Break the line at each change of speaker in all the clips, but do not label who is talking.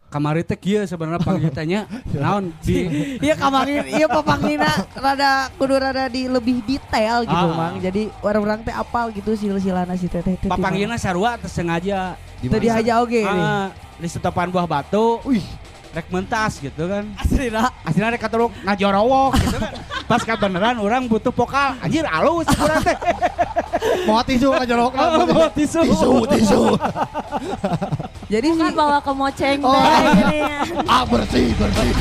kamari teh kieu sebenarnya panggilnya naon di
Iya kamari iya papanggina kudu rada di lebih detail gitu Mang. Jadi orang-orang teh apal gitu silsilana si teteh teh.
papanggilna sarua teh sengaja
Teu dihaja oge nih.
Di setopan buah batu. Wih, rek mentas gitu kan. Aslinya rek katuruk ngajorowok gitu kan. Pas beneran orang butuh vokal. Anjir alus kurang teh.
Mau tisu ngajorowok.
Mau tisu.
Jadi
Bukan bawa ke moceng teh gini ya.
Bersih.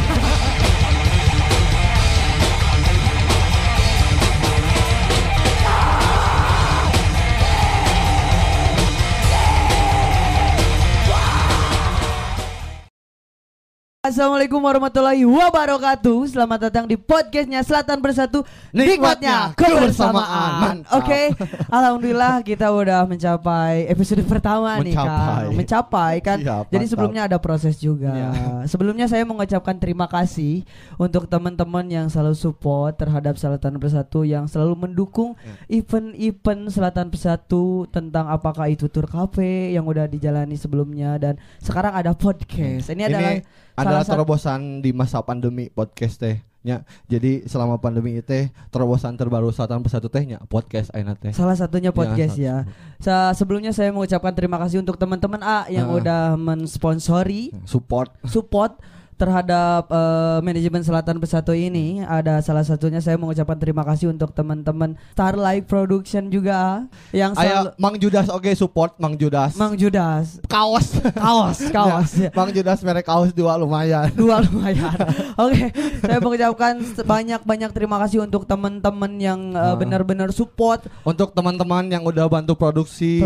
Assalamualaikum warahmatullahi wabarakatuh. Selamat datang di podcastnya Selatan Bersatu. Nikmatnya kebersamaan. Oke, alhamdulillah kita udah mencapai episode pertama nih Kang. Mencapai kan.
Siap,
jadi
mantap.
sebelumnya ada proses juga.
Ya.
Sebelumnya saya mengucapkan terima kasih untuk teman-teman yang selalu support terhadap Selatan Bersatu, yang selalu mendukung event-event Selatan Bersatu, tentang apakah itu tour cafe yang udah dijalani sebelumnya dan sekarang ada podcast. Ini adalah
adalah
salah
terobosan di masa pandemi podcast tehnya. Jadi selama pandemi itu terobosan terbaru Selatan Bersatu tehnya podcast ayeuna teh.
salah satunya podcast ya. Sebelumnya saya mengucapkan terima kasih untuk teman-teman yang udah mensponsori
Support
terhadap manajemen Selatan Bersatu ini. Ada salah satunya saya mengucapkan terima kasih untuk teman-teman Starlight Production juga yang
aya Mang Judas support Mang Judas. Kaos.
Ya.
Mang Judas merek kaos 2 lumayan.
Oke, saya mengucapkan banyak terima kasih untuk teman-teman yang benar-benar support,
Untuk teman-teman yang udah bantu produksi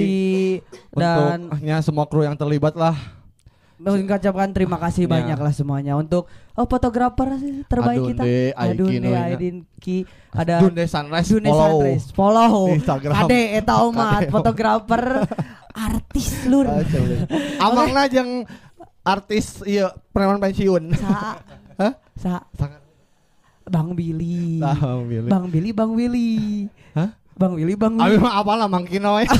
dan
untuk semua kru yang terlibat lah.
mengucapkan terima kasih banyak lah semuanya untuk fotografer terbaik kita.
Adunde
Aidinki, ada
Dunde Sunrise
follow
Instagram.
Ade eta omat fotografer artis lur.
Amangna jeung artis ieu preman pensiun.
Sa Bang Billy.
Bang Willy. Hah?
Bang Willy.
Abi mah apalah Mang Kino we.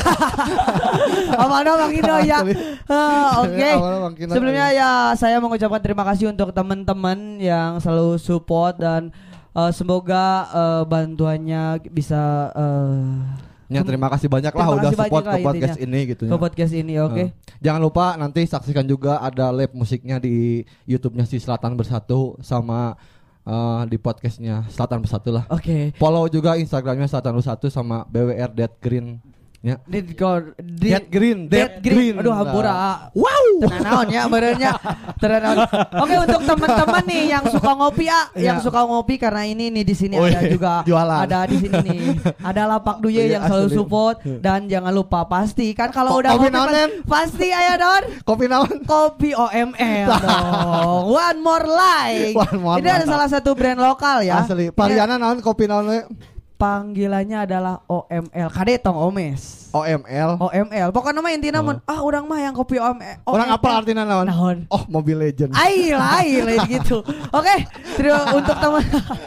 Amanda Bang Kino ya. Oke.
Mang Kino.
Sebelumnya ya saya mengucapkan terima kasih untuk teman-teman yang selalu support dan semoga bantuannya bisa
terima kasih banyak lah udah support ke podcast ini gitu ya.
Ke podcast ini, oke.
Jangan lupa nanti saksikan juga ada live musiknya di YouTube-nya si Selatan Bersatu sama di podcastnya Selatan Bersatu lah.
Oke.
Follow juga Instagramnya Selatan Bersatu sama BWR Dead Green. Ya.
Dead Green. Aduh hampura.
Wow.
Tenanaon ya benernya. Oke, untuk teman-teman nih yang suka ngopi yang suka ngopi karena ini nih di sini ada juga
jualan.
Ada di sini nih. Ada Lapak Duye yang selalu support dan jangan lupa pasti kan kalau udah ngopi pasti aya Don.
Kopi naon?
Kopi OML dong. One more like. Ini ada salah satu brand lokal ya.
Asli. Paliana naon kopi naon we?
Panggilannya adalah OML. Kade tong Omes.
OML.
Pokoknya mah intinya mun urang mah yang kopi OML.
Orang apa artinya naon? Oh, Mobile Legend.
Lain gitu. Oke, untuk teman.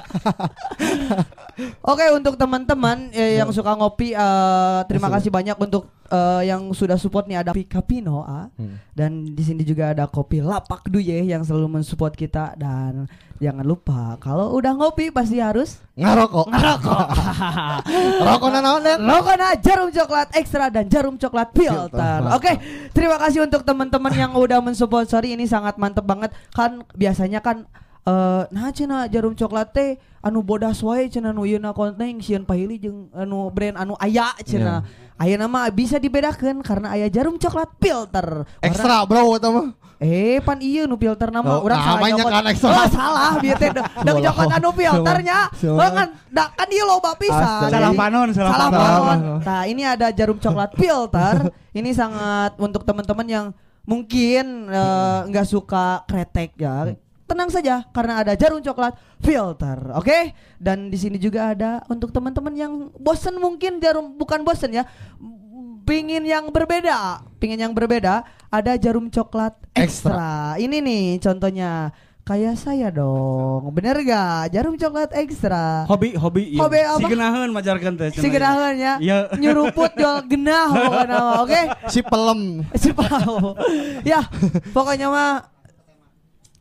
Oke, untuk teman-teman yang suka ngopi, terima kasih banyak untuk yang sudah support nih. Ada Capino dan di sini juga ada kopi Lapak Duye yang selalu mensupport kita. Dan jangan lupa kalau udah ngopi pasti harus
ngerokok. Rokokna naon Den?
Rokokna jarum coklat ekstra dan jarum coklat filter. Oke, terima kasih untuk teman-teman yang udah mensupport. Sorry, ini sangat mantep banget. Kan biasanya kan cenah jarum coklat teh anu bodas wae cenah nu yeuna konten sieun pahili jeung anu brand anu aya cenah. Ayeuna mah bisa dibedakeun karena aya jarum coklat filter.
Ekstra bro eta mah.
Pan ieu nu filter nama urang salah
namanya
nyokot.
kan ekstra.
Salah bieu teh da nyokot anu filternya. Kan ieu loba pisan.
Salah panon.
Nah, ini ada jarum coklat filter. Ini sangat untuk teman-teman yang mungkin enggak suka kretek ya. Tenang saja karena ada jarum coklat filter, oke? Dan di sini juga ada untuk teman-teman yang bosen mungkin bukan bosen ya, pingin yang berbeda, ada jarum coklat ekstra. Ini nih contohnya. Kayak saya dong, bener gak? Jarum coklat ekstra.
Hobi
apa?
Si genaheun majarkeun teh.
Si genaheun ya. Nyuruput jual genah pokoknya, oke?
Si pelem.
Ya, pokoknya mah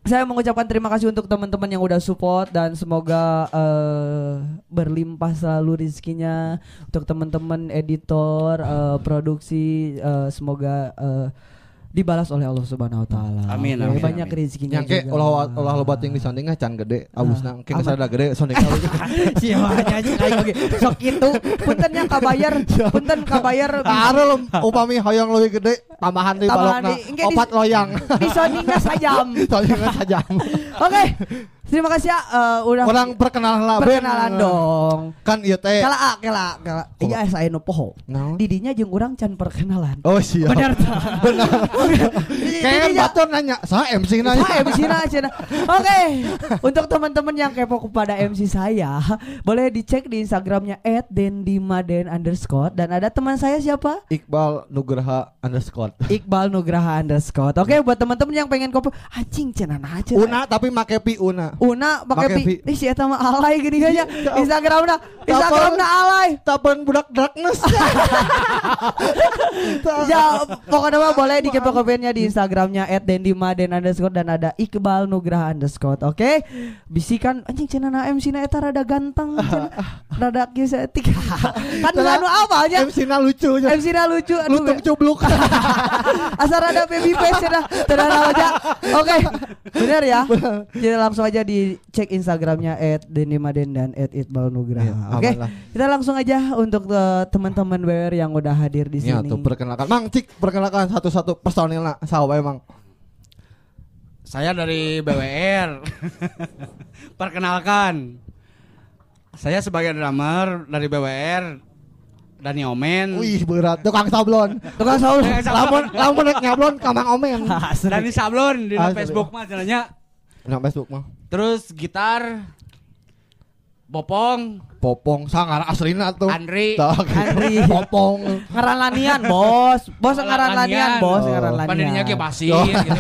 Saya mengucapkan terima kasih untuk teman-teman yang udah support dan semoga berlimpah selalu rezekinya untuk teman-teman editor, produksi, semoga dibalas oleh Allah Subhanahu wa taala.
Amin,
Oke,
amin,
banyak
amin.
rezekinya
Yang kayak
juga.
ulah loba ting di sounding can gede abusna engke sada gede sounding abus.
Siapa aja kayak oge. Sok kitu. Punten nya kabayar, punten kabayar.
Are upami hoyong leuwih gede tambahan di
Tambahan
balokna
di- engke di-
opat loyang.
Di soundingnya sajam.
Soalnya saja.
Oke. Terima kasih ya udah
Orang perkenalan lah Ben.
perkenalan dong.
Kan ieu teh.
Kala. Iya saya nu poho.
Naon?
Didinya jeung urang can perkenalan.
Oh siap.
Benar.
Benar. Kayak batur nanya, "Saya MC nanya."
Saya MC Cina. Oke, untuk teman-teman yang kepo kepada MC saya, boleh dicek di Instagramnya @dendimaden_ dan ada teman saya siapa?
Iqbal Nugraha _
Iqbal Nugraha _ Oke, buat teman-teman yang pengen kopi, anjing cenah aja.
Una tapi make pi una.
Una pakai
Make
pi. Ih si eta mah alay gini aja. Instagramna alay.
Tapan budak darkness.
Ya, pokoknya mah boleh dikepo-kepoinnya di Instagramnya @dendimaden_ dan ada Iqbal Nugraha _ Oke, bisikan anjing cenah MC na eta rada ganteng, rada kieu saeutik. Kan anu awalnya
MC-na lucu nya.
MC na lucu, aduh,
Lutung cubluk.
asal rada baby face cenah, cenah aja. Oke, benar ya. Jadi langsung aja dicek Instagramnya @dendimaden dan @iqbal nugraha.
Iya,
Oke,
aman lah.
kita langsung aja untuk teman-teman BWR yang udah hadir di
Ya
sini.
tuh perkenalkan. Mang Cik, perkenalkan satu-satu personilna. Saha Mang?
Saya dari BWR. Perkenalkan. Saya sebagai drummer dari BWR. Dani Omen.
Wih berat, tukang sablon.
Tukang saul.
Lamun rek nyablon ka Mang Omen.
Dani Sablon di
Asli.
Facebook mah cenanya.
Nah, Facebook mah.
Terus gitar Bopong,
Popong sangar aslina tuh.
Andri,
Tak.
Andri.
Popong.
Ngaran lanian, bos. Bos ngaran lanian, bos
Oh.
ngaran lanian.
Pandirinya ke basis
Oh.
gitu.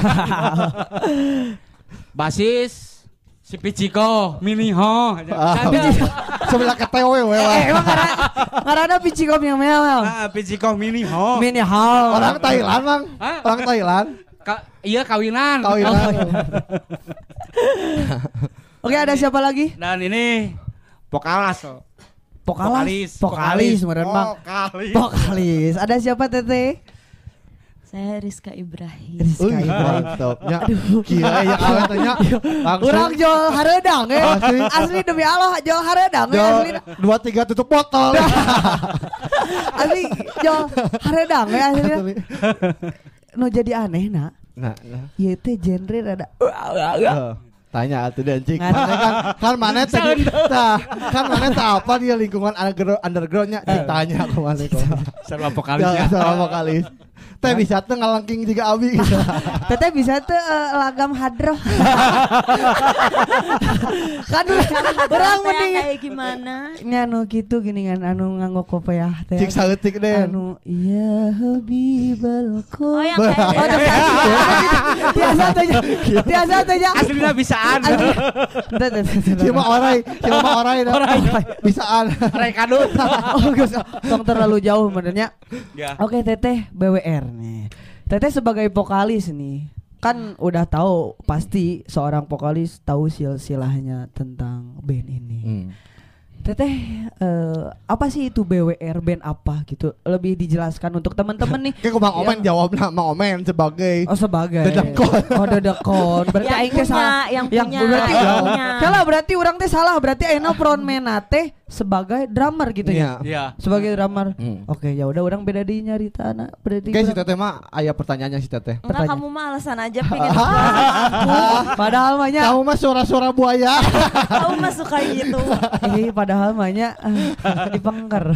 Basis si Pichiko, Miniho.
Sebelah ketewe we.
Emang ngaranna Pichikom yang mewah.
Ah, Pichiko Miniho.
Mini hall.
Orang Thailand, Mang.
Hah?
Orang Thailand.
Iya kawinan.
Kawinan.
Oke, ada siapa lagi?
Dan ini Pokalas.
Vokalis meureun Bang. Vokalis. Ada siapa Teteh?
Saya Rizka Ibrahim.
Rizka Ibrahim.
Mantapnya. Kira ya awet tanya.
Urang jual hareudang
Asli.
Asli demi Allah jual hareudang asli.
2-3 tutup botol.
Asli jual hareudang asli. Nu jadi aneh nak.
Nah.
Ieu teh genre rada
Tanya atuh dan cik.
Ngan.
Kan mana tadi kan mana tak apa dia lingkungan undergroundnya ditanya ke mana kok.
Serba vokalisnya.
Sama vokalis. Teh bisa tuh ngalangking juga abi.
Teteh bisa tuh lagam hadroh. Kan orang mending
kayak gimana?
anu gitu gini kan anu nganggo kopiah teh.
Cik sautik deh.
Anu ya habibal
Oh yang
Oh,
kayak
biasa tuh ya.
Aslinya bisaan.
Cuma orai dah. Bisaan.
Rai kadut.
Oh, geus tong terlalu jauh benernya.
Ya.
Oke, Teteh BWR nih. Teteh sebagai vokalis nih. Kan udah tahu pasti seorang vokalis tahu silsilahnya tentang band ini. Teteh apa sih itu BWR, band apa gitu? Lebih dijelaskan untuk teman-teman nih.
Kayak Mang Omen jawabnya Mang Omen sebagai
Oh sebagai
Dedekon.
Oh dedekon. Berarti
Yang
aing teh salah.
yang punya,
berarti
yang punya.
Kalah berarti orang teh salah. Berarti ayeuna frontman teh sebagai drummer gitu ya.
Iya.
Sebagai drummer.
Hmm.
Oke, ya udah orang beda di nyarita anak. Berarti
Kayak si
urang-
Teteh mah aya pertanyaannya si Teteh.
Enggak, kamu mah alasan aja pengen
padahal mahnya
Kamu mah suara-suara buaya.
kamu mah suka gitu.
padahal mahnya dipengker.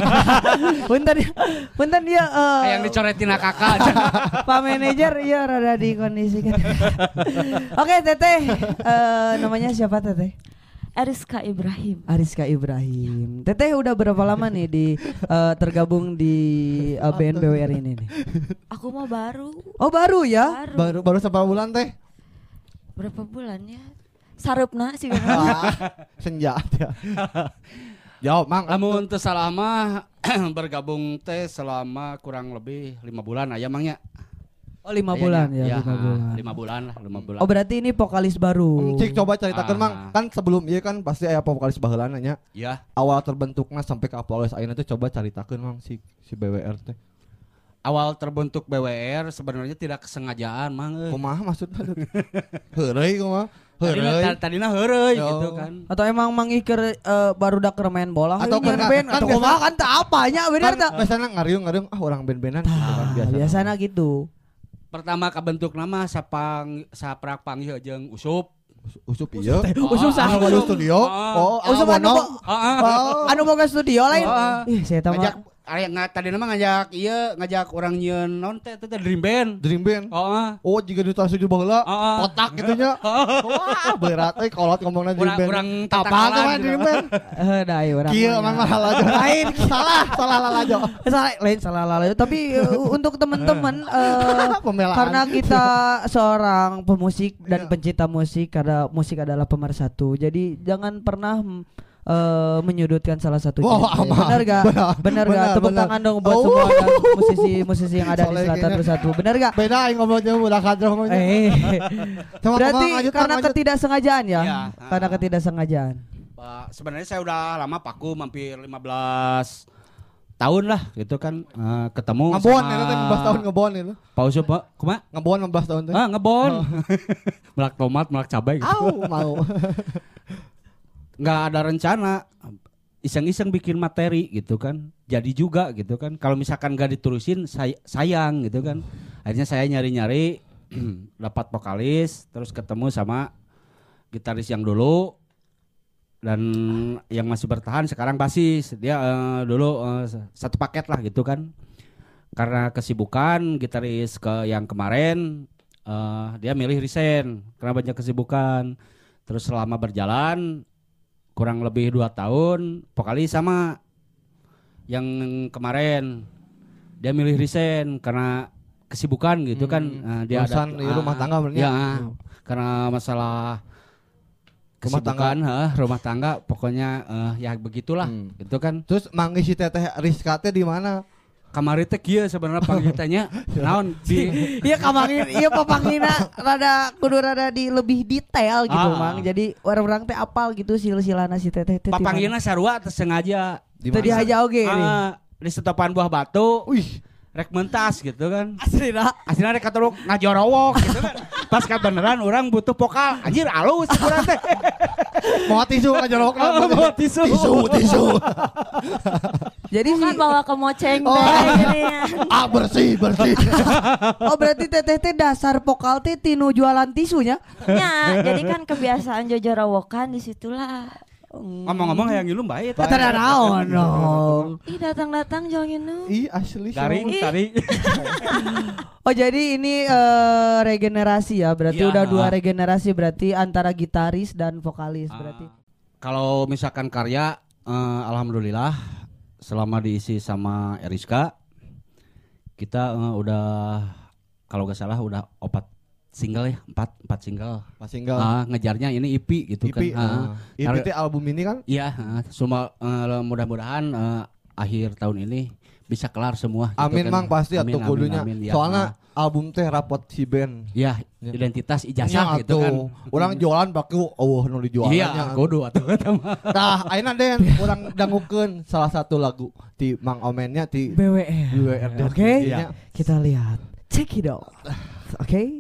Punten dia
Yang dicoretin kakak.
Pak manajer iya rada dikondisikan. Oke, Teteh namanya siapa Teteh?
Rizka Ibrahim.
Ariska Ibrahim. Teteh udah berapa lama nih di tergabung di band BWR ini nih?
Aku mah baru.
Oh baru ya?
Baru berapa bulan Teh?
Berapa bulan ya? Sarupna sih.
Senja ya. Jawab Mang.
Lamun teu salah mah bergabung teh selama kurang lebih 5 bulan aya mangnya.
Oh 5 bulan ya,
Iya,
5 bulan.
5 bulan lah, 5 bulan.
Oh berarti ini vokalis baru.
Cik coba ceritakan Mang, kan sebelum ieu kan pasti aya vokalis baheulana nya.
Iya.
Awal terbentuknya sampai ke vokalis ayeuna teh coba ceritakan Mang si BWR teh.
Awal terbentuk BWR sebenarnya tidak kesengajaan, Mang.
Kumaha maksudna? Heureuy kumaha? Heureuy.
Tadina heureuy
Yo.
gitu kan.
Atau emang mangikir barudak keur main bola
Atau
heuh,
karena-
band
kan
atau
biasa-
kumaha kan teu apanya bener
Kan
tah.
biasana ngariung orang band-bandan gitu kan biasa.
Biasana gitu.
Pertama kabentuk nama saprak panggil jeung Usup.
Usup ieu.
Usup saha?
Awal studio. Oh,
Usup anu
Mono.
anu boga studio lain.
Oh.
Ih, saya tahu
Ngajak tadi nama ngajak orang nyeun naon teh Dream Band.
Dream Band.
Oh.
Oh, jika di studio baheula
Heeh.
kotak gitu nya. Wah, berat euy kolot ngomongna Dream Band.
Urang
Apaan
tatakalan
tuh
gitu.
Dream Band?
Dai urang.
Kieu mah lalajo lain. Salah lalajo.
Salah lalu. Tapi untuk teman-teman
Pembelaan.
karena kita seorang pemusik dan pencinta musik, karena musik adalah pemersatu. Jadi jangan pernah menyudutkan salah satu
Wah,
genre.
aman.
Benar gak? Benar gak? Tepuk
benar.
tangan dong buat
Oh.
semua musisi-musisi yang ada di
Soalnya
Selatan
kayaknya-
Bersatu. Benar gak?
Beda aing ngomongnya udah kadro ngomongnya.
Berarti
lanjut,
karena
lanjut.
ketidaksengajaan ya?
Iya.
Karena ketidaksengajaan.
Sebenarnya saya udah lama paku hampir 15 tahun lah gitu kan ketemu
Ngebon
sama
itu teh 15 tahun ngebon itu.
Pak Usup, kumaha?
Ngebon 15 tahun teh.
Ngebon. Melak tomat, melak cabai gitu.
Au, mau.
Nggak ada rencana, iseng-iseng bikin materi gitu kan, jadi juga gitu kan. Kalau misalkan nggak diterusin sayang gitu kan. Akhirnya saya nyari-nyari dapat vokalis, terus ketemu sama gitaris yang dulu dan yang masih bertahan sekarang basis. Dia dulu satu paket lah gitu kan. Karena kesibukan gitaris yang kemarin dia milih resign karena banyak kesibukan. Terus selama berjalan kurang lebih 2 tahun vokalis sama yang kemarin dia milih resign karena kesibukan gitu kan. Dia
Urusan di rumah tangga benernya.
ya, karena masalah
Rumah
kesibukan rumah tangga pokoknya ya begitulah gitu kan.
Terus mangisi teteh Rizka teh di mana?
Kamari teh kieu sebenarnya panggilnya naon di
Iya kamangin, iya papanggina kudu rada di lebih detail gitu Mang. Jadi orang-orang teh apal gitu silsilana si teteh teh.
papanggilna sarua teu sengaja
Teu dihaja oge nih.
di setopan buah batu.
Wih,
Rek mentas gitu kan.
Asli
Rek katuruk ngajorowok gitu kan. Pas beneran orang butuh vokal. Anjir alus kurang teh.
mau tisu ngajorok
Bawa tisu.
tisu.
Jadi
Bukan bawa ke moceng
Oh.
teh gininya.
Bersih.
oh berarti teteh teh dasar vokal teh tinu jualan tisunya.
Ya, jadi kan kebiasaan Jojo Rawokan disitulah.
Ngomong-ngomong yang ngilu bae teh.
Tara naon dong.
Ih datang-datang jangan nu.
Ih, asli.
Garing tadi.
Oh jadi ini regenerasi ya. Berarti
Iya.
udah 2 regenerasi berarti antara gitaris dan vokalis berarti.
Kalau misalkan karya alhamdulillah selama diisi sama Eriska kita udah kalau gak salah udah 4 single ya, 4 single.
Mas single.
Ngejarnya ini EP gitu
EP.
kan.
EP teh album ini kan?
Iya, semua mudah-mudahan akhir tahun ini bisa kelar semua.
Amin
gitu kan.
Mang pasti
Amin,
atuh
amin,
kudunya.
amin, ya.
Soalnya album teh rapot si band.
Ya,
Ya.
identitas
Nya
ijazah gitu kan.
Orang jualan pakai nu dijualannya.
Iya, kudu atuh eta mah.
Nah, ayeuna Den urang dangukeun salah satu lagu ti Mang Omennya ti
BWR.
BWR.
Oke.
Iya.
Kita lihat. Check it out. Oke.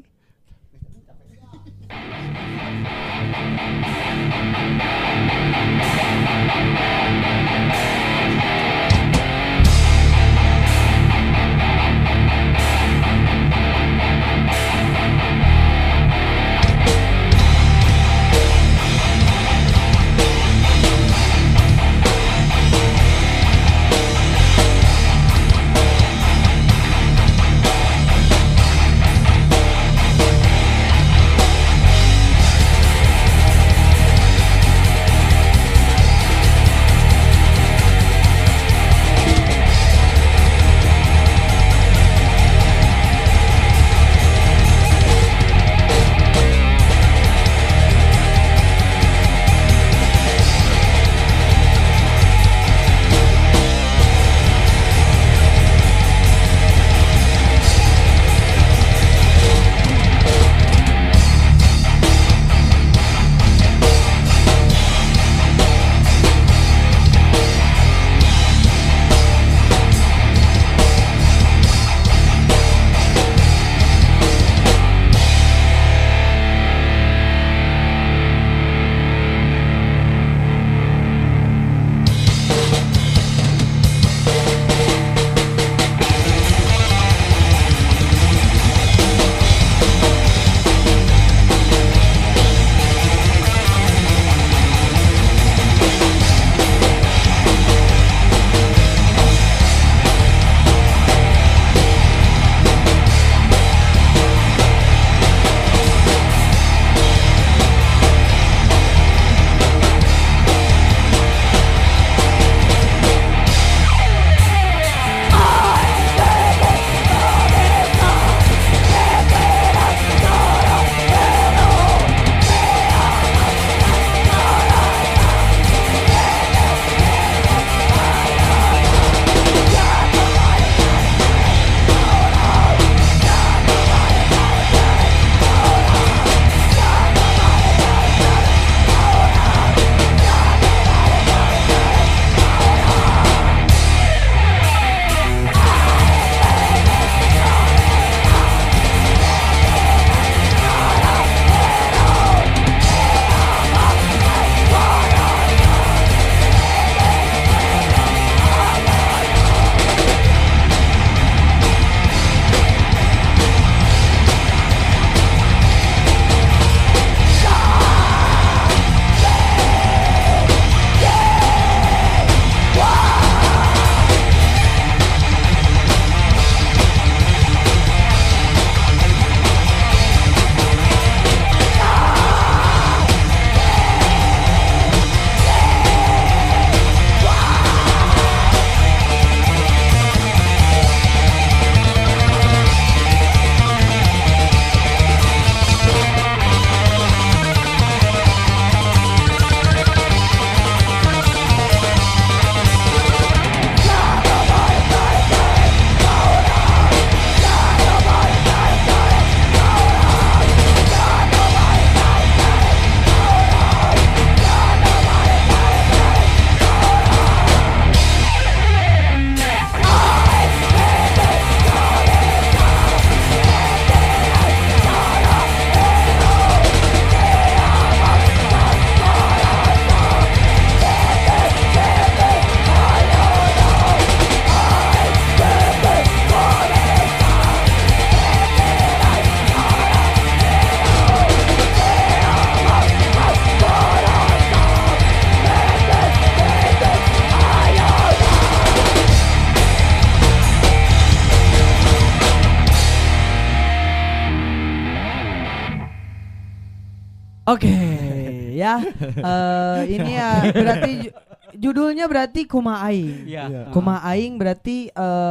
Oke, ya. Ini ya berarti judulnya berarti Kumaha Aing.
Iya.
Kumaha Aing berarti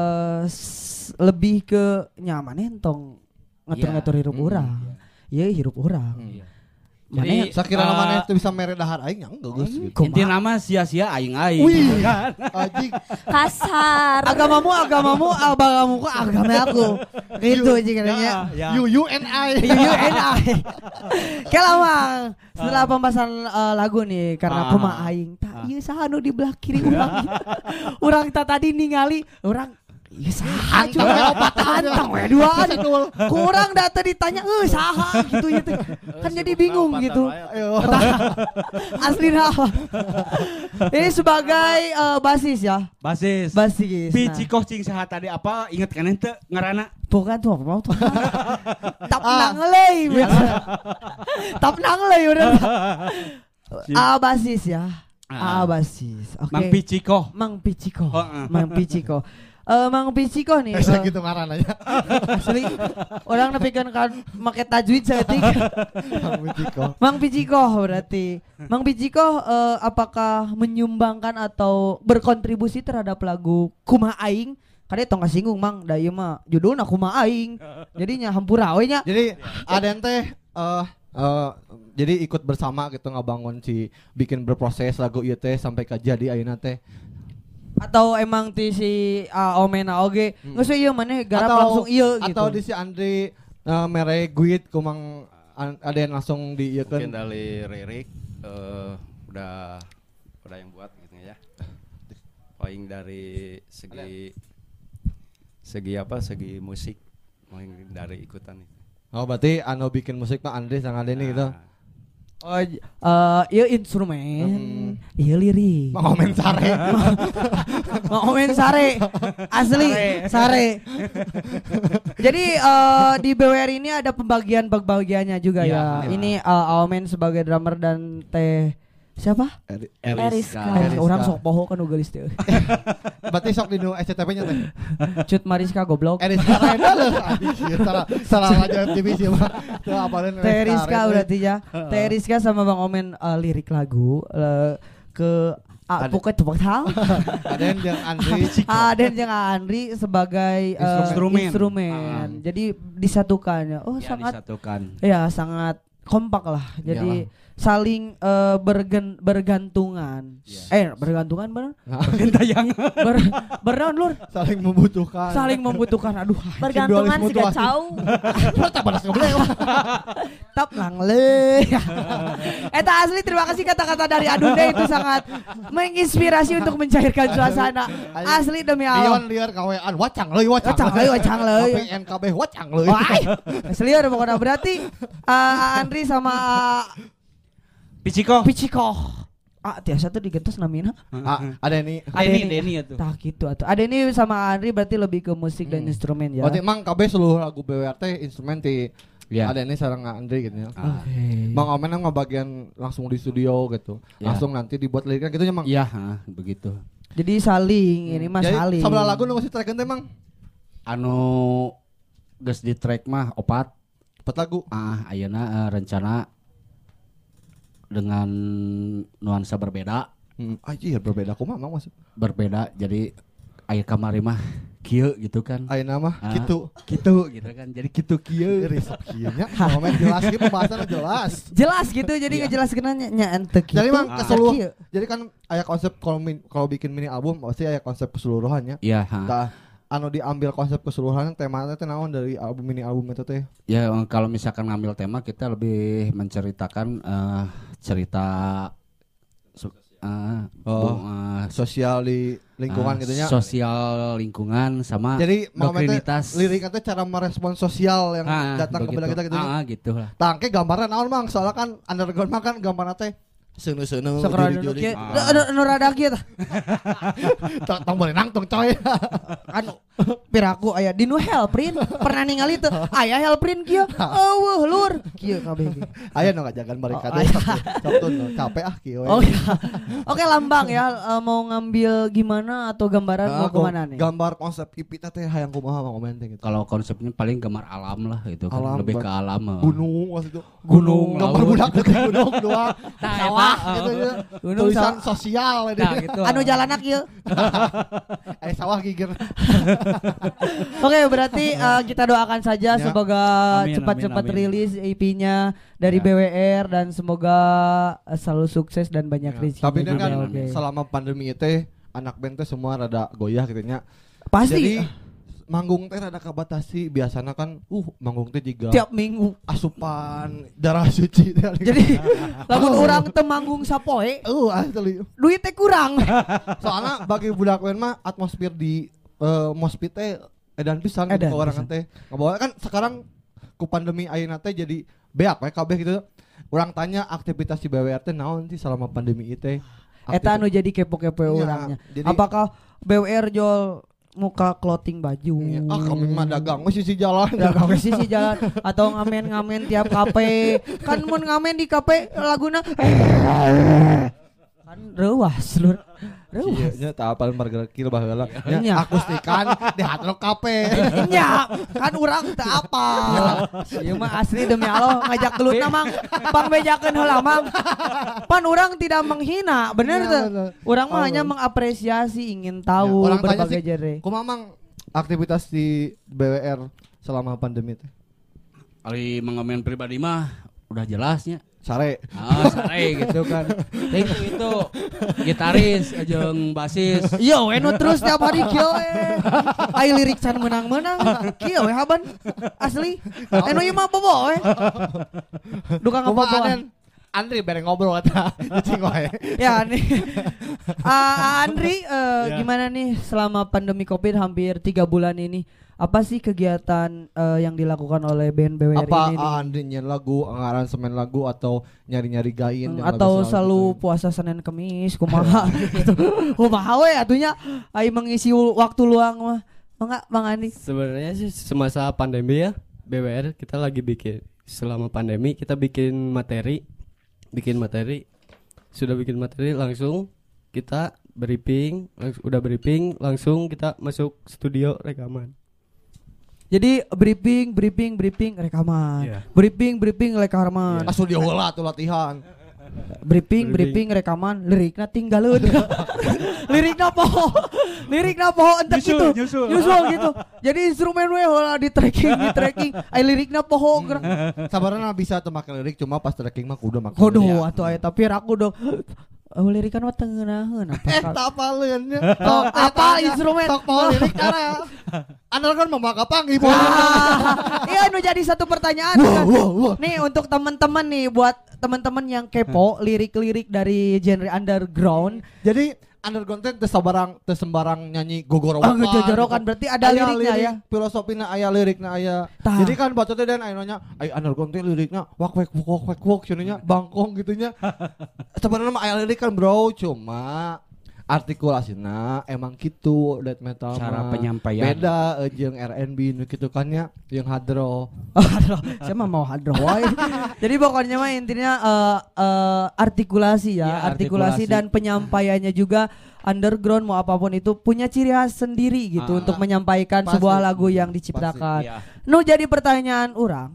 lebih ke nyaman entong ngatur-ngatur hirup urang. Iya, hirup urang.
Iya.
Jadi
Sakira mana itu bisa mere dahar aing yang geus gitu.
Inti nama sia-sia aing-aing.
Wih.
gitu kan.
Anjing.
Kasar.
agamamu, agamamu agama aku. Gitu aja katanya.
You and I.
UNI. Kela Mang, setelah pembahasan lagu nih karena Kumaha Aing. Tak ieu saha nu di belah kiri urang. Urang tak tadi ningali urang ieu saha coba antang we duaan. Kurang data ditanya saha gitu ya teh. Kan jadi bingung gitu. Asli apa? Ini sebagai basis ya.
Basis.
Basis.
Pici cing saha tadi apa inget kan ente ngaranna?
Bukan tuh apa tuh. Tap nanglei. Tap nanglei udah. Basis ya. Basis. Oke.
Mang Piciko.
Mang Piciko.
Heeh.
Mang Piciko. Mang Piciko nih.
Bisa gitu ngaran aja.
Asli orang nepikeun kan make tajwid saeutik. Mang Piciko berarti. Mang Piciko apakah menyumbangkan atau berkontribusi terhadap lagu Kumaha Aing? Kade tong kasinggung Mang, da ieu mah judulna Kumaha Aing. Jadinya hampura we nya.
Jadi aden teh jadi ikut bersama gitu ngabangun si bikin berproses lagu ieu teh sampai ka jadi ayeuna teh.
Atau emang ti si Omena oge geus ieu maneh garap langsung ieu gitu.
Atau di si Andri mere guit kumang aden langsung di ieu
Mungkin
kan.
dari lirik udah yang buat gitu ya. Paling dari segi musik paling dari ikutan itu.
Oh berarti anu bikin musik mah Andri sang Adeni gitu.
Oh, ieu instrumen, ieu lirik.
Mau komen sare.
Mau komen sare. Asli, sare. Jadi di BWR ini ada pembagiannya juga ya. Ini Aumen sebagai drummer dan Teh siapa?
Eriska.
Orang sok poho kan ugelis teh.
Berarti sok di nu SCTP-nya teh.
Cut Mariska goblok.
Eriska Renda loh. Salah aja TV sih mah. Tuh apalin
Teh Eriska berarti ya. Teh Eriska sama Bang Omen lirik lagu ke pokoknya tuh tahu.
Aden jeung Andri.
Aden jeung Andri sebagai instrumen. Jadi disatukan ya. Oh
Ya,
sangat
disatukan.
ya sangat kompak lah. Jadi saling bergantungan. Bergantungan bener?
Gentayang.
Bernaon lur?
Saling membutuhkan.
Saling membutuhkan. Aduh.
Bergantungan siga cau.
Tak balas goblok.
Tap langle. Eta asli terima kasih kata-kata dari Adunda itu sangat menginspirasi untuk mencairkan suasana. Asli demi Allah.
Dion liar kawean wacang leuy wacang.
Wacang leuy.
PNKB wacang leuy.
Wah. Asli ada pokoknya berarti Andri sama
Piciko.
Tiasa tuh digentos namina.
Adeni.
Deni itu.
Tah gitu atuh. Ada ini sama Andri berarti lebih ke musik dan instrumen ya.
Berarti emang KB seluruh lagu BWRT instrumen ti
Ya.
Adeni sareng Andri gitu ya.
Oke.
Bang Omen mah bagian langsung di studio gitu.
Ya.
Langsung nanti dibuat liriknya gitu ya Mang.
Iya, begitu.
Jadi saling ini mah
Jadi
saling.
sabelah lagu nu geus ditrekeun teh Mang?
Anu geus di track mah 4
lagu.
Ayeuna rencana dengan nuansa berbeda.
Anjir berbeda kumaha Mang maksud?
Berbeda jadi aya kamari mah kieu gitu kan.
Ayeuna mah kitu.
Gitu kan. Jadi kitu kieu.
Risep kieu nya. Momen jelas kieu pembahasanna jelas.
Jelas gitu jadi ngejelaskeun nya ente kitu.
Jadi Mang keseluruh.
Kieu.
Jadi kan aya konsep kalau bikin mini album pasti aya konsep keseluruhannya.
Iya,
Tah anu diambil konsep keseluruhan temanya teh naon dari mini album itu teh?
Ya kalau misalkan ngambil tema kita lebih menceritakan cerita
sosial di lingkungan gitu nya.
Sosial lingkungan sama
Jadi
dokrinitas.
liriknya teh cara merespon sosial yang datang ke kita gitu.
Gitu lah.
Tangke gambarnya naon Mang? Soalnya kan underground mah kan gambarnya teh seunu-seunu
Sok rada
juli-juli.
nu rada kieu tah.
Tong berenang tong coy.
Anu Piraku aya di nu Helprint pernah ningali teu aya Helprint kieu eueuh lur kieu kabeh ge.
Aya nu ngajagan barikade
aya.
Sabtu capek kieu.
Oh iya. Oke Lambang ya mau ngambil gimana atau gambaran mau kemana nih?
Gambar konsep ipitna teh hayang kumaha mau komen teh gitu.
Kalau konsepnya paling gambar alam lah gitu kan,
Alam,
lebih ke alam.
Gunung maksud itu.
Gunung,
Gambar
laut.
budak ke gunung doang.
Nah,
Sawah
eta,
gitu ya.
Gunung,
Tulisan
sawah.
sosial
Nah, gitu.
Anu jalanak kieu.
sawah gigir.
Oke, berarti kita doakan saja
Ya.
semoga
Amin,
cepat-cepat
amin, amin.
rilis EP-nya dari
Ya.
BWR dan semoga selalu sukses dan banyak rezeki.
Tapi ini kan
Oke.
selama pandemi itu anak band teh semua rada goyah gitu nya.
Pasti
Jadi manggung teh rada kabatasi, biasanya kan manggung teh juga
tiap minggu.
asupan darah suci teh.
Jadi lamun orang teu manggung sapoe,
asli.
duit teh kurang.
Soalnya bagi budak band mah atmosfer di mospit teh edan pisan gitu
Edan
ke orang
pisan.
teh. Ngabawa kan sekarang ku pandemi ayeuna teh jadi beak we kabeh gitu. Urang tanya aktivitas di BWR teh naon sih selama pandemi ieu teh?
Eta anu jadi kepo-kepo
Iya,
orangnya.
jadi-
Apakah BWR jual muka clothing baju?
Iya. Kami mah dagang we sisi jalan.
Dagang ke sisi jalan atau ngamen-ngamen tiap kafe. Kan mun ngamen di kafe laguna kan reuas lur. Reuas.
Iya, tak apal marga kieu baheula.
Iya.
Nya akustikan di Hard Rock Cafe.
Nya, kan urang teu apa. Ieu mah asli demi Allah ngajak gelutna mang pangbejakeun heula mang. Pan urang tidak menghina, bener
Iya,
teu?
bener.
Urang mah
Oh.
hanya mengapresiasi, ingin tahu
Ya, orang tanya
berbagai
sih,
genre.
kumaha mang aktivitas di BWR selama pandemi teh?
Ari mengomen pribadi mah udah jelasnya.
Sare.
Sare gitu kan. Itu gitaris jeung basis.
Yo, we nu terus tiap hari kieu we. Ai lirik can menang-menang. Kieu we haban. Asli. Enu ieu mah bobo we. Duka ngaboboan.
Andri bareng ngobrol eta. Cicing wae.
Ya nih. Andri gimana nih selama pandemi Covid hampir 3 bulan ini? Apa sih kegiatan yang dilakukan oleh band BWR
Apa
ini? nih?
Andri nyen lagu, aransemen lagu atau nyari-nyari gain yang
Atau
lagu
selalu
gitu?
puasa Senin Kemis kumaha gitu. Kumaha we atunya ai mengisi waktu luang mah. Mangga Bang Andi.
Sebenarnya sih semasa pandemi ya BWR kita lagi selama pandemi kita bikin materi sudah bikin materi langsung kita udah briefing langsung kita masuk studio rekaman.
Jadi briefing rekaman.
Iya.
Briefing rekaman.
Ah, studio heula tuh latihan.
Briefing rekaman lirikna tinggalin. Lirikna poho entek gitu. Nyusul gitu. Jadi instrumen we heula di tracking. Ai lirikna poho.
Sabarna bisa teu make lirik cuma pas tracking mah kudu make.
Kudu atuh aya tapi aku dong. Lirikan mah teu ngeunaheun
Tak apaleun nya.
apa instrumen?
Tok mau lirik karena Andal kan memakai panggih.
Iya, nu jadi satu pertanyaan kan. Nih untuk teman-teman nih buat teman-teman yang kepo lirik-lirik dari genre underground.
Jadi underground teh teu sembarang nyanyi
Oh,
gogorokan.
gogorokan berarti ada
Aya
liriknya
lirik,
ya.
Filosofina aya lirikna aya.
Tah.
Jadi kan bacotnya dan aya nanya, "Ai underground teh liriknya wak wak cenanya bangkong gitunya." Sebenarnya mah aya lirik kan, Bro, cuma artikulasinya emang gitu death metal
Cara
mah
penyampaian.
beda jeung R&B nu kitu kan ya yang hadro.
Saya mah mau hadroh wae. Jadi pokoknya mah intinya artikulasi ya,
Ya,
artikulasi
artikulasi.
dan penyampaiannya juga underground mau apapun itu punya ciri khas sendiri gitu untuk menyampaikan
Pasti.
sebuah lagu yang diciptakan.
Iya.
Nu jadi pertanyaan orang.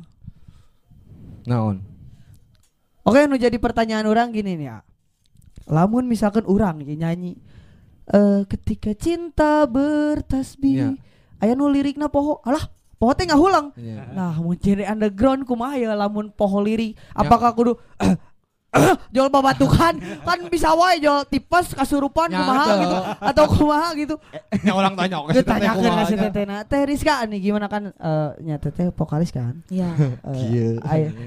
Naon?
Oke, nu jadi pertanyaan orang gini nih ya. Lamun misalkan orang nyanyi ketika cinta bertasbih.
Iya.
Aya nu lirikna poho. Alah, poho teh ngahulang.
Iya.
Nah, mun genre underground kumaha ya lamun poho lirik? Apakah kudu jual babatukan kan bisa wae jual tipes kasurupan
Ya,
kumaha
betul.
gitu atau kumaha gitu.
Nya orang tanya oke
Ditanyakeun ka si tetehna. Teh Rizka nih gimana kan nya teteh vokalis kan?
Iya.
Kieu.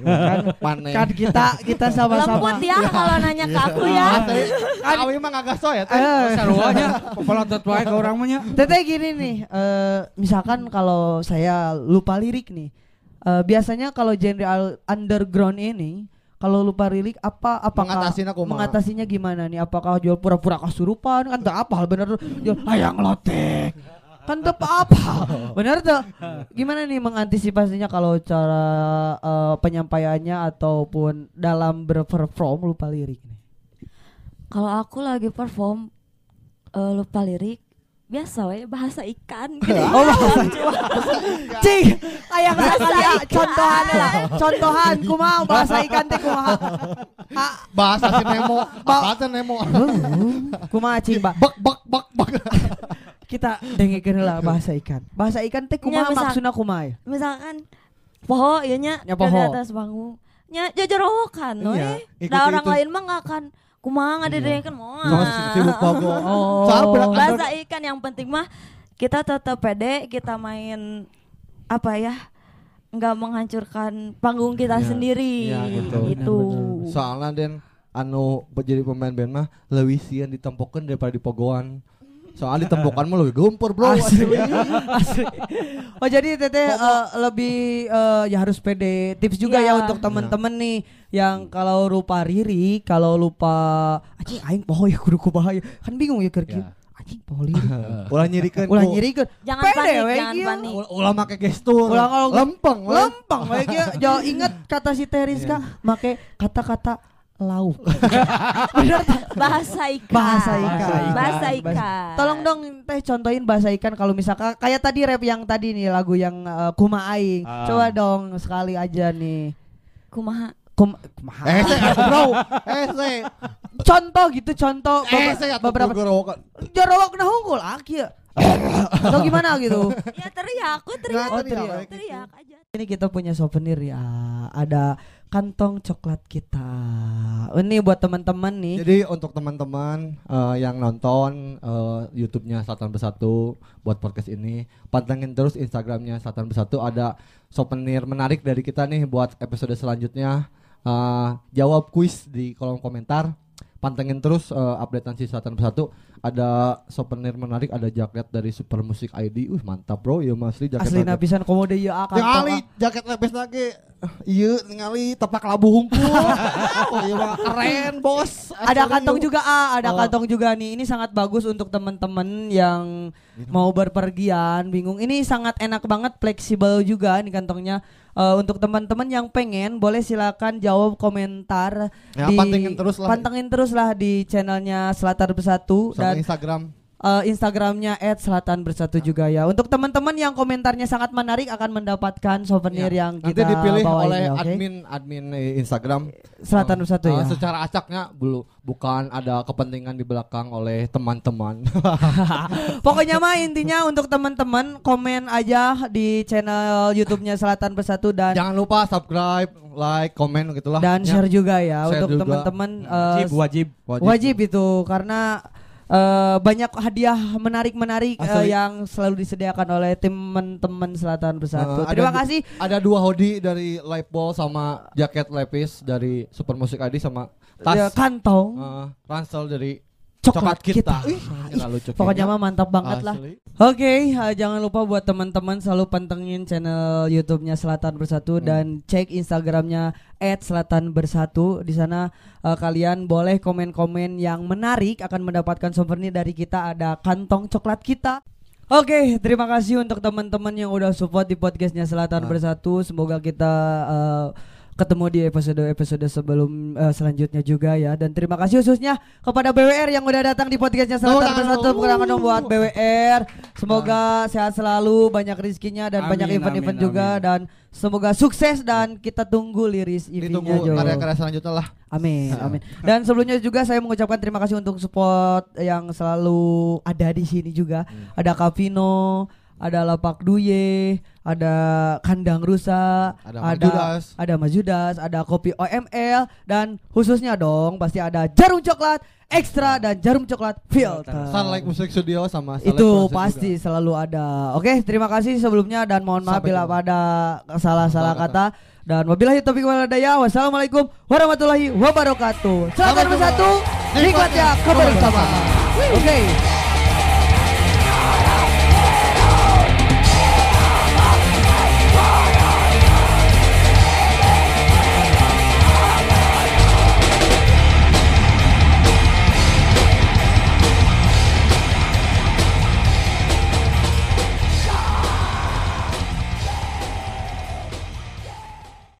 Kan kita sama-sama.
Lembut ya kalau nanya ke aku ya.
Awi mah ngagaso ya teh.
Saruanya pepolotot wae ke urang mah nya.
Teteh gini nih, misalkan kalau saya lupa lirik nih, biasanya kalau genre underground ini, kalau lupa lirik apakah mengatasinya gimana nih? Apakah jual pura-pura kasurupan kan tak apa hal bener jual hayang lotek. Kan teu apa. Bener tuh. Gimana nih mengantisipasinya kalau cara penyampaiannya ataupun dalam berperform lupa lirik nih?
Kalau aku lagi perform lupa lirik, biasa we bahasa ikan gitu.
Oh, bahasa Cing, aya sekali contohan lah. Contohan kumaha bahasa ikan teh kumaha?
Bahasa si Nemo. Bahasa Nemo.
Kumaha cing, Mbak?
Bak.
Kita dengekeun heula bahasa ikan. Bahasa ikan teh kumaha maksudna kumaha?
Misalkan poho ieu nya
Ya,
di
poho.
atas panggung. Nya jajarahokan
Iya,
we.
ikuti
Da orang
itu.
lain mah enggak akan kumaha ngadedekeun moal.
Sibuk pogo.
Oh.
Bahasa ikan yang penting mah kita tetap pede, kita main apa ya? Enggak menghancurkan panggung kita
Iya,
sendiri.
iya, gitu.
Gitu.
Soalnya Den anu jadi pemain band mah leuwih sieun ditempokeun daripada dipogoan. Soalnya ditempokan mah lebih gempur bro.
Asli. Oh jadi teteh lebih ya harus pede. Tips juga ya
Iya.
untuk temen-temen nih yang kalau lupa lirik, kalau lupa anjing aing poho ya kudu kumaha ya. Kan bingung ya keur kieu. Anjing poho lirik.
Ulah nyirikeun.
Ulah nyirikeun.
Jangan
Pede
panik,
we
jangan
kieu.
panik.
Ulah make gestur.
Ulah kalau
lempeng.
Lempeng we kieu. Jo inget kata si Teriska make kata-kata lauk. Bener tak?
Bahasa ikan.
Bahasa ikan.
Bahasa ikan.
Tolong dong teh contohin bahasa ikan kalau misalkan kayak tadi rap yang tadi nih lagu yang Kumaha Aing. Coba dong sekali aja nih.
Kumaha.
Kumaha.
Bro.
Contoh gitu contoh
beberapa
jorowak nah unggul kieu. Atau gimana gitu.
Ya teriak, aku teriak.
Oh, teriak.
Teriak aja.
Ini kita punya souvenir ya. Ada kantong coklat kita. Ini buat teman-teman nih.
Jadi untuk teman-teman yang nonton YouTube-nya Selatan Bersatu buat podcast ini, pantengin terus Instagram-nya Selatan Bersatu, ada souvenir menarik dari kita nih buat episode selanjutnya. Jawab kuis di kolom komentar. Pantengin terus updatean si Selatan Bersatu. Ada souvenir menarik, ada jaket dari Super Music ID. Mantap bro, ya asli jaket.
Asli napisan komode ieu akan.
Ningali jaket lepes lagi. Ieu ningali tepak labu hungkul. Oh iya mah keren bos.
Ada kantong juga ada kantong juga nih. Ini sangat bagus untuk teman-teman yang mau berpergian, bingung. Ini sangat enak banget, fleksibel juga nih kantongnya. Untuk teman-teman yang pengen boleh silakan jawab komentar
Ya, pantengin terus lah
di channelnya Selatan Bersatu
sama
dan
Instagram.
Instagramnya @selatan_bersatu juga ya. Untuk teman-teman yang komentarnya sangat menarik akan mendapatkan souvenir yang
Nanti
kita
dipilih
bawain
oleh
ya, oke?
admin Instagram
Selatan Bersatu ya.
Secara acaknya bukan ada kepentingan di belakang oleh teman-teman.
Pokoknya mah intinya untuk teman-teman komen aja di channel YouTube-nya Selatan Bersatu dan
Jangan lupa subscribe, like, komen gitulah.
dan share juga ya
Share
untuk
juga.
teman-teman
Wajib.
itu karena banyak hadiah menarik-menarik yang selalu disediakan oleh teman-teman Selatan Bersatu. Terima kasih.
Ada 2 hoodie dari Lightball sama jaket lepis dari Super Music ID sama tas
Kantong
ransel dari
coklat kita. Pokoknya mah mantap banget lah. Oke, jangan lupa buat teman-teman selalu pantengin channel YouTube-nya Selatan Bersatu dan cek Instagram-nya @selatanbersatu. Di sana kalian boleh komen-komen yang menarik, akan mendapatkan souvenir dari kita, ada kantong coklat kita. Oke, terima kasih untuk teman-teman yang udah support di podcastnya Selatan Bersatu. Semoga kita ketemu di episode sebelum selanjutnya juga ya. Dan terima kasih khususnya kepada BWR yang udah datang di podcastnya Selatan Bersatu. Bukan dong buat BWR. Semoga sehat selalu, banyak rezekinya dan banyak event-event juga. Dan semoga sukses dan kita tunggu liris
Ditunggu
EV-nya Jo.
karya-karya selanjutnya lah.
Amin, amin. Dan sebelumnya juga saya mengucapkan terima kasih untuk support yang selalu ada di sini juga. Ada Kavino, ada Lapak Duye, ada Kandang Rusa, ada Mas Judas, ada Kopi OML, dan khususnya dong pasti ada Jarum Coklat Ekstra dan Jarum Coklat Filter.
Sunlight Music Studio sama Sunlight
Itu
Project
pasti
juga.
selalu ada. Oke, terima kasih sebelumnya dan mohon maaf bila ada salah-salah kata. Dan wabillahi taufiq wal hidayah. Wassalamualaikum warahmatullahi wabarakatuh. Selamat bersatu, nikmatnya kebersamaan. Oke.